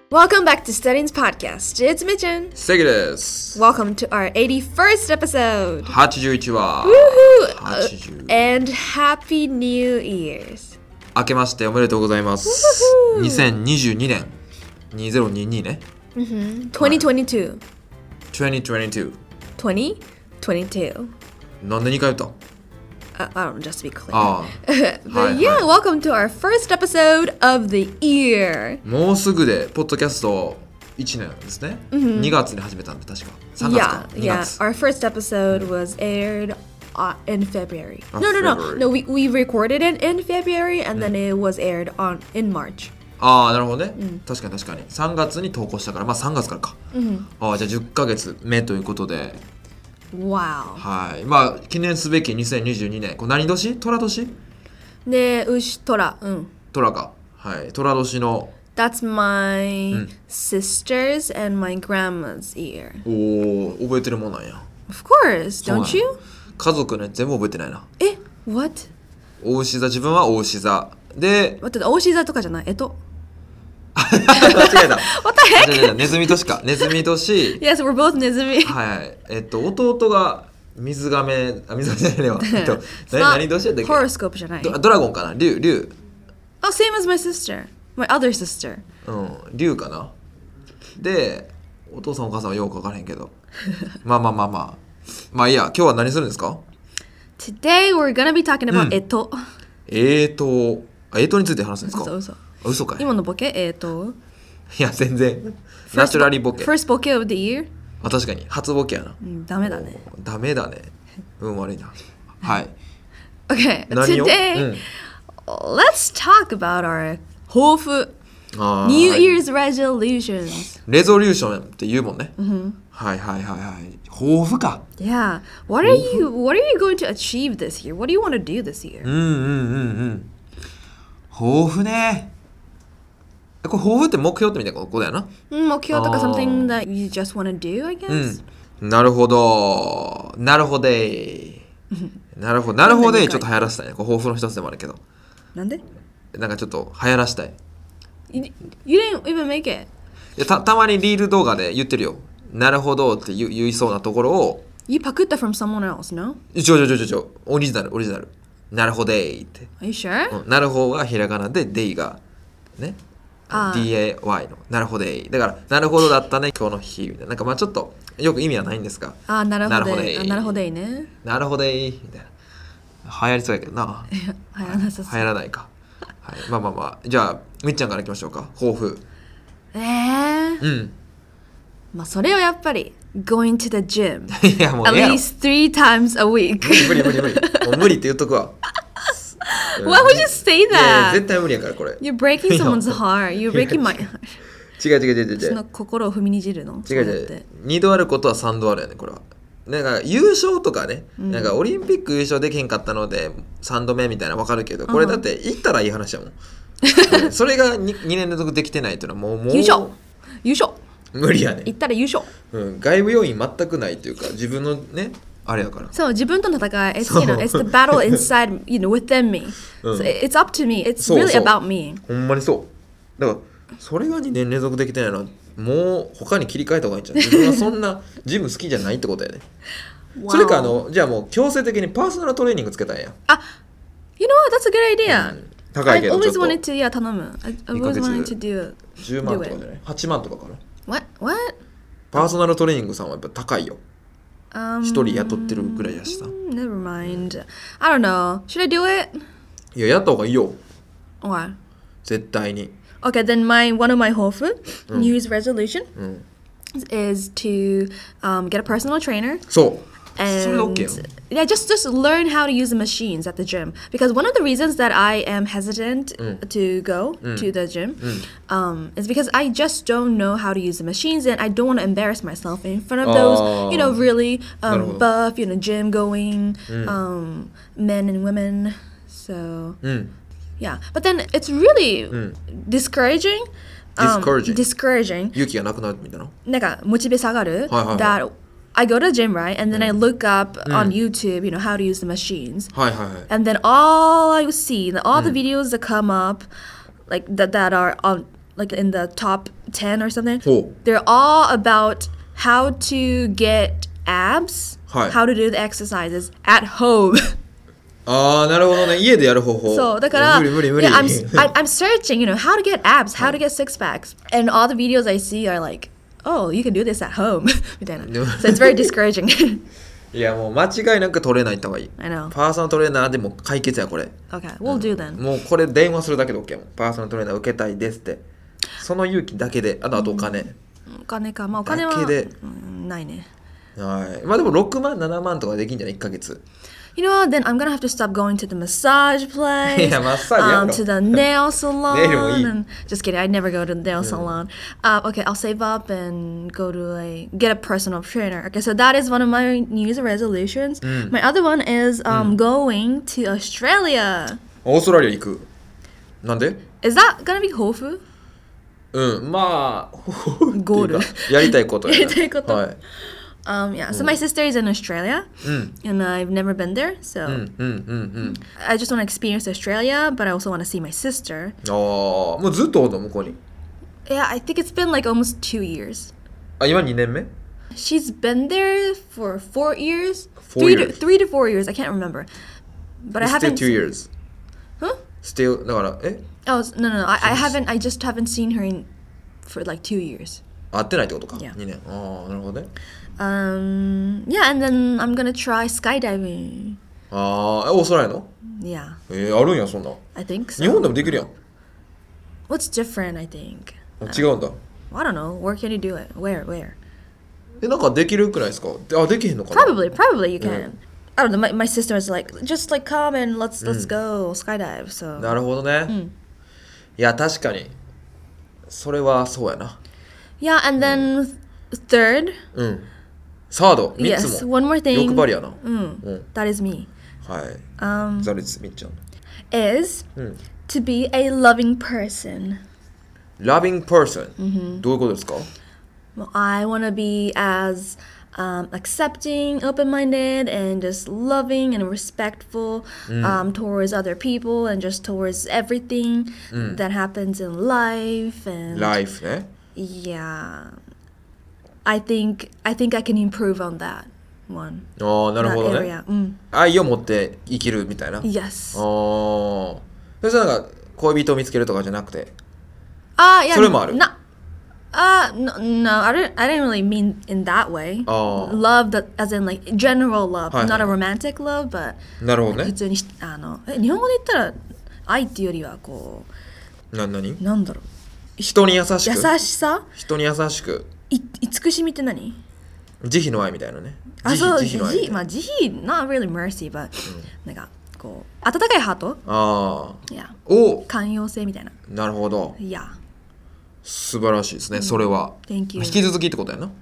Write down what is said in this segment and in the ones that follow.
Welcome back to Studying's podcast. It's Mitchin. 関です。 Welcome to our 81st episode. 81話。 Woohoo! 80 And Happy New Year's. 明けましておめでとうございます。2022年。2022ね。 2022. 2022。 2022. なんで2回言った I don't know, just to be clear. ああ。 But yeah, welcome to our first episode of the year. もうすぐで、ポッドキャスト1年ですね。2月に始めたんで、確か。3月か。 Yeah, 2 yeah. 月。 Our first episode was aired in February. Oh, No, February. we recorded it in February and then it was aired in March. ああ、なるほどね。確かに。3月に投稿したから、まあ3月からか。ああ、じゃあ10ヶ月目ということで。 Wow. はい。まあ、記念すべき2022年。これ何年？寅年？ ね、牛、虎。 寅か。はい。寅年の。 That's my sister's and my grandma's year. おお、覚えてるもんなんや。 Of course, そうなん don't や you? 家族ね、全部覚えてないな。 え、what? お牛座、自分はお牛座。で、 待って、大志座とかじゃない。 間違えた。 What the heck? 違うネズミ年か。ネズミ年。 Yes, we're both ネズミ。 はい。弟が水亀、水亀じゃないわ。 It's 何年やったっけ horoscope じゃない。 ドラゴンかな竜。 Oh, same as my sister. My other sister. 竜かな。で、お父さんお母さんはよく分からへんけど。まあいいや、今日は何するんですか？ Today we're gonna be talking about 干支について話すんですか？嘘かい。 今のボケいや、全然。ナチュラリーボケ。 First ボケ of the year? 確かに、初ボケやな。 ダメだね。 ダメだね。悪いな。はい。 Okay, 何を？ today, let's talk about our 抱負。New Year's resolutions. レゾリューションって言うもんね。はい。抱負か。 Yeah. What are you going to achieve this year? What do you want to do this year? 抱負ね。これ抱負って目標ってみたいなことだよな。 目標とか something that you just want to do, I guess? なるほど。なるほど。ちょっと流行らせたいね。これ抱負の一つでもあるけど。 なんで？ なんかちょっと流行らせたい。 You didn't even make it. いやたまにリール動画で言ってるよ。なるほどって言いそうなところを。 You パクった from someone else, no? オリジナル。なるほどって。 Are you sure? なるほどがひらがなで、デイがね。DAY のなるほどだからなるほどだったね今日の日みたいななんかまあちょっとよく意味はないんですがなるほどなるほどねなるほどみたいな流行りそうやけどな流行らなさそう流行らないか、はい、まあじゃあみっちゃんからいきましょうか抱負まあそれはやっぱり going to the gym いやもう at ええやろ least 3 times a week 無理もう無理って言っとくわ Why would you say いや that? 絶対無理やからこれ You're breaking someone's heart. You're breaking my heart. 違うその心を踏みにじるの違う2度あることは3度あるよねこれはなんか優勝とかね、なんかオリンピック優勝できへんかったので3度目みたいなの分かるけどこれだって行ったらいい話やもんそれが 2年連続できてないっていうのはもう優勝無理やね行ったら優勝外部要因全くないっていうか自分のねあれやからそう自分との戦い it's the battle inside within me so it's up to me it's really about me ほんまにそうだからそれが2年連続できてないのはもう他に切り替えた方がいいんじゃん自分はそんなジム好きじゃないってことやねそれかじゃあもう強制的にパーソナルトレーニングつけたんや You know what that's a good idea 高いけど I ちょっ always と wanted to 頼む I always wanted to do 10万とかじゃない8万とかかな What? パーソナルトレーニングさんはやっぱ高いよ一人雇ってるぐらいやしさ Never mind I don't know Should I do it? いややった方がいいよ What? 絶対に Okay, then one of my 抱負 New Year's resolution is to get a personal trainer そうそ and れ OK よ yeah, just learn how to use the machines at the gym because one of the reasons that I am hesitant to go to the gym is because I just don't know how to use the machines and I don't want to embarrass myself in front of those really buff gym going men and women so yeah but then it's really discouraging discouraging 勇気がなくなるみたいななんかモチベ下がる that I go to the gym, right? And then I look up on YouTube, how to use the machines. And then all I see, all the videos that come up, like that are on, like in the top 10 or something. ほ They're all about how to get abs, はい how to do the exercises at home. ああ、なるほどね。家でやる方法。 そう、だから、 無理無理無理。 yeah, I'm searching, how to get abs, how to get six packs. And all the videos I see are like, oh, you can do this at home. みたいな。So it's very discouraging. いや、もう間違いなくトレーナー行った方がいい。 I know. パーソナルトレーナーでも解決や、これ。 Okay, we'll do then. もうこれ電話するだけで OK もん。パーソナルトレーナー受けたいですって。その勇気だけで、あとお金。 お金か。まあお金はだけでないね。 はい。まあでも6万、7万とかできんじゃない ?1 ヶ月。 You know what? Then I'm gonna have to stop going to the massage place, いや、マッサージやめろ。 to the nail salon. ネイルもいい。 And just kidding, I'd never go to the nail salon. Okay, I'll save up and go to get a personal trainer. Okay, so that is one of my New Year's resolutions. My other one is going to Australia. オーストラリア行く。なんで Is that gonna be 抱負？ うん、まあ、 ゴール。 やりたいことやな。 やりたいこと。 はい。 Yeah, so my sister is in Australia, and I've never been there, so I just want to experience Australia, but I also want to see my sister. ああ、もうずっとおんの向こうに。 Yeah, I think it's been like almost 2 years. あ、今2年目 She's been there for 4 years, 4 years. 3 to 4 years. I can't remember, but I Still haven't. 2 years. Huh? Still, だから、 Oh no. I haven't. I just haven't seen her for like 2 years. 会ってないってことか。 Yeah. 2年。ああ、なるほどね。 Yeah, and then I'm gonna try skydiving. ああ、オーストラリアの Yeah, あるんや、そんな。 I think 日本 so. でもできるやん。 What's different? I think. 違うんだ。 I don't know. Where can you do it? Where? なんかできるくないですかあ、できへんのかな Probably you can. Yeah. I don't know. My sister was like, just like come and let's go skydive. So なるほどね。いや、確かに。それはそうやな。 yeah, and then third, うん。サード、3 yes, つも。 one more thing. 欲張りやな。 That is me. はい。ザリツ、みっちゃん。 Is to be a loving person. Loving person、どういうことですか Well, I want to be as accepting, open-minded, and just loving and respectful towards other people and just towards everything that happens in life. And Life ね。 yeah, I think I can improve on that one. ああ、なる That ほど area. ね。愛を持って生きるみたいな。ああ。 Yes. それじゃなんか恋人を見つけるとかじゃなくて。 Yeah. それもある。 No, I didn't really mean in that way. Love that, as in like general love, はいはい。 not a romantic love, but なるほどね。 普通に日本語で言ったら愛っていうよりはこ何うなんだろう人に優しく。 優しさ人に優しく。 慈しみって何慈悲の愛みたいなね。 そう慈悲の愛。 まあ慈悲 not really mercy but なんかこう温かいハートああ。 いやお寛容性みたいななるほど。 いや素晴らしいですね、それは。 Thank you. 引き続きってことやな。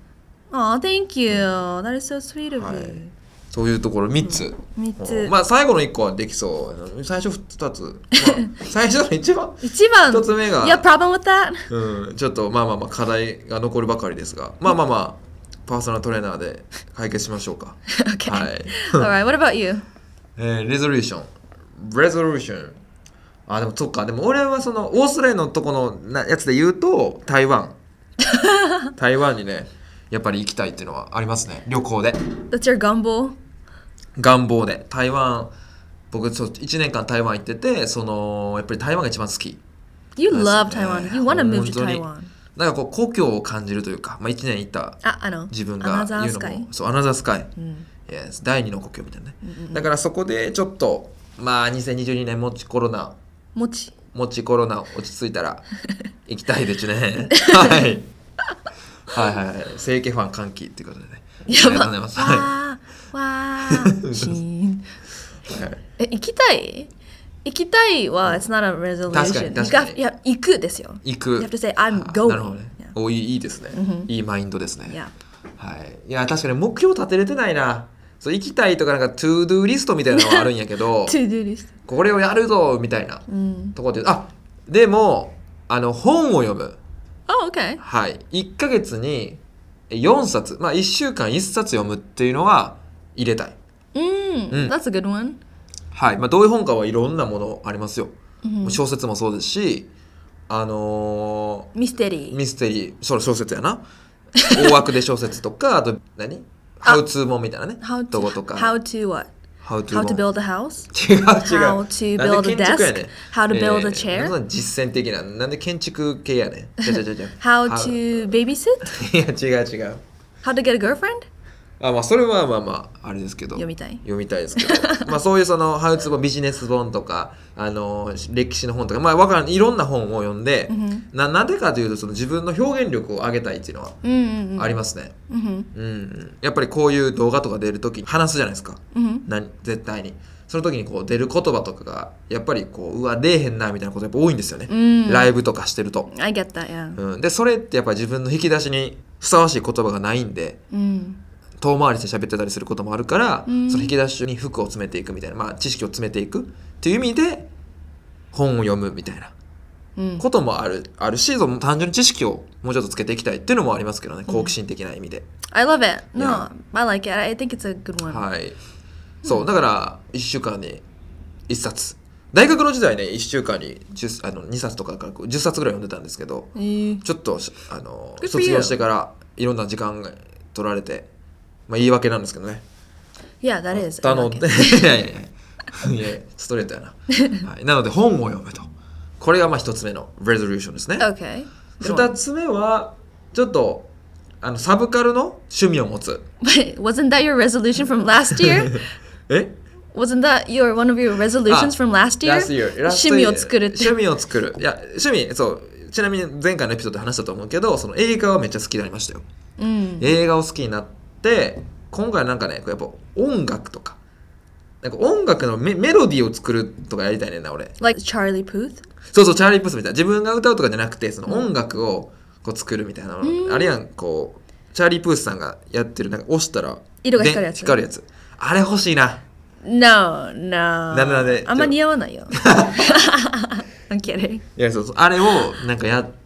Thank you. That is so sweet of はい you. そういうところ3つ。 3つまあ最後の1個はできそう。最初2つ。まあ、最初の一番1つ目が、 You have problem with that? ちょっとまあ課題が残るばかりですが、まあパーソナルトレーナーで解決しましょうか。 Okay. はい。 Alright, what about you? レゾリューション。でもそっか、でも俺はそのオーストラリアのとこのやつで言うと台湾にねやっぱり行きたいっていうのはありますね、旅行で。 That's your gumbo? 願望で台湾、僕1年間台湾行ってて、そのやっぱり台湾が一番好き。 You love Taiwan. You want to move to 本当に Taiwan. なんかこう故郷を感じるというか、1年行った自分が言うの Another sky. もそう、アナザースカイ、Yes、第二の故郷みたいなね、だからそこでちょっと2022年もちコロナ落ち着いたら行きたいですね。はい正規ファン歓喜っていうことでね。ありがとうございます。 わーシーン行きたいは it's not a resolution. 確かにいや行くですよ。 行く。 You have to say I'm going. なるほどね。いいですね。いいマインドですね。 Yeah. いや確かに目標立てれてないな。そう行きたいとかなんかトゥードゥーリストみたいなのはあるんやけど To do list. これをやるぞみたいなところで、でも本を読む。 Oh, okay. 1ヶ月に4冊、1週間1冊読むっていうのは入れたい。 That's a good one. どういう本かはいろんなものありますよ。小説もそうですし、 ミステリー。 ミステリー、小説やな。大枠で小説とか、あとハウツーもんみたいなね。とことか。 How to what? How to build a house? 違う。 How to build a desk? How to build a chair? 実践的な。なんで建築系やねん。 How to babysit? いや、違う。 How to get a girlfriend? まあそれはまああれですけど読みたいですけどまあそういうそのハウツービジネス本とか歴史の本とかまあわからんいろんな本を読んで、なんでかというとその自分の表現力を上げたいっていうのはありますね。やっぱりこういう動画とか出るときに話すじゃないですか。絶対にその時にこう出る言葉とかがやっぱりこう出えへんなみたいなことやっぱ多いんですよね。ライブとかしてると。 I get that, yeah. でそれってやっぱり自分の引き出しにふさわしい言葉がないんで。遠回りして喋ってたりすることもあるから、その引き出しに服を詰めていくみたいな、まあ、知識を詰めていくっていう意味で本を読むみたいなこともあるし、単純に知識をもうちょっとつけていきたいっていうのもありますけどね、好奇心的な意味で。 I love it. No, I like it. I think it's a good one. はい。そうだから1週間に1冊。大学の時代ね1週間に2冊とかから10冊ぐらい読んでたんですけど、ちょっと卒業してからいろんな時間が取られて。まあ言い訳なんですけどね。 Yeah, that is. いやストレートやな。はい、なので本を読むと。これがまあ一つ目の resolution ですね。 Okay. 二つ目はちょっとサブカルの趣味を持つ。 Wait, wasn't that your resolution from last year? え Wasn't that one of your resolutions from last year? 趣味を作るって。 趣味を作る。いや趣味そう。ちなみに前回のエピソードで話したと思うけど、その映画はめっちゃ好きになりましたよ。映画を好きになって。で今回なんかねやっぱ音楽とかなんか音楽のメロディーを作るとかやりたいねんな俺。 Like Charlie Puth? そうチャーリー・プースみたいな自分が歌うとかじゃなくてその音楽をこう作るみたいなの、あれやんこうチャーリー・プースさんがやってるなんか押したら色が光るやつあれ欲しいな。 No なんであんま似合わないよ。I'm kidding. いやそうあれをなんかやって。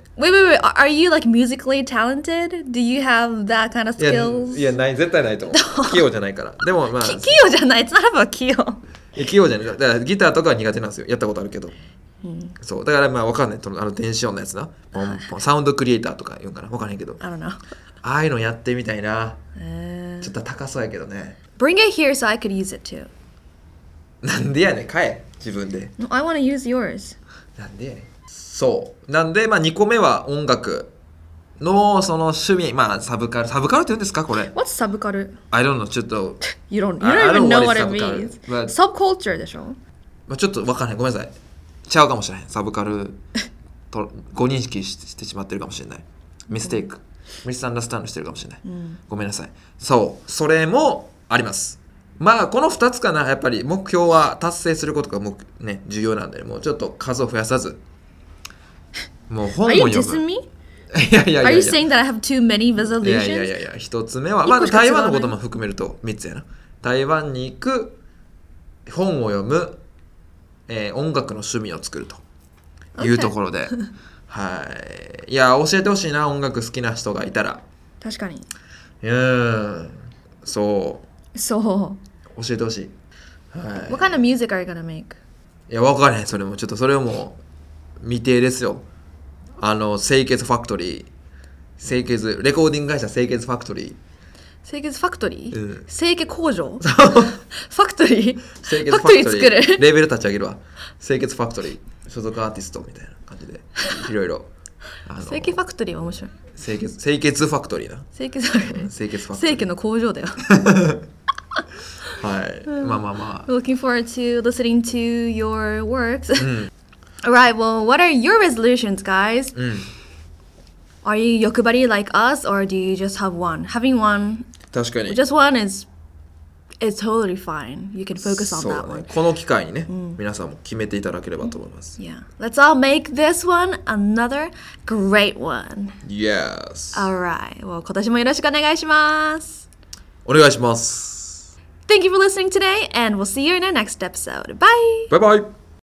Wait. Are you like musically talented? Do you have that kind of skills? いやない絶対ないと思う。器用じゃないから。でもまあ器用じゃない。It's not about 器用。 器用じゃない。だからギターとかは苦手なんですよ。やったことあるけど。そうだからまあわかんない。電子音のやつな。サウンドクリエイターとか言うんかな。わかんないけど。 I don't know. ああいうのやってみたいな。ちょっと高そうやけどね。 Bring it here so I could use it too. なんでやねん買え自分で。 No, I want to use yours. なんでやねん。そうなんでまあ2個目は音楽のその趣味まあサブカルって言うんですかこれ。 What's サブカル I don't know ちょっと You don't even know what it means. But Subculture でしょ。 ちょっとわかんないごめんなさいちゃうかもしれないサブカルとご認識してしまってるかもしれないミステイクミスアンダースタンドしてるかもしれない、ごめんなさい。そうそれもあります。まあこの2つかな。やっぱり目標は達成することがね重要なんでもうちょっと数を増やさずもう本を読む。 Are you dissing me? いや Are you saying that I have too many resolutions? いや1つ目はまあ台湾のことも含めると3つやな。台湾に行く本を読む、音楽の趣味を作るというところで、はいいや教えてほしいな音楽好きな人がいたら。 確かにそう教えてほしい。はい。 What kind of music are you gonna make? いや分からへんそれもちょっとそれはもう未定ですよ。清潔ファクトリーレコーディング会社清潔ファクトリー清潔ファクトリー、 うん、 清潔工場ファクトリー清潔ファクトリー作るレーベル立ち上げるわ。清潔ファクトリー所属アーティストみたいな感じでいろいろ清潔ファクトリーは面白い。 清潔ファクトリーな清潔ファクトリー清潔ファクトリー清潔の工場だよはい、まあ Looking forward to listening to your works. Alright, well, what are your resolutions, guys? Are you 欲張り like us, or do you just have one? Having one, 確かに just one is totally fine. You can focus on そう that ね one. この機会にね、皆さんも決めていただければと思います。 Yeah. Let's all make this one another great one. Yes. Alright, well, 今年もよろしくお願いします。 お願いします。 Thank you for listening today, and we'll see you in our next episode. Bye! バイバイ。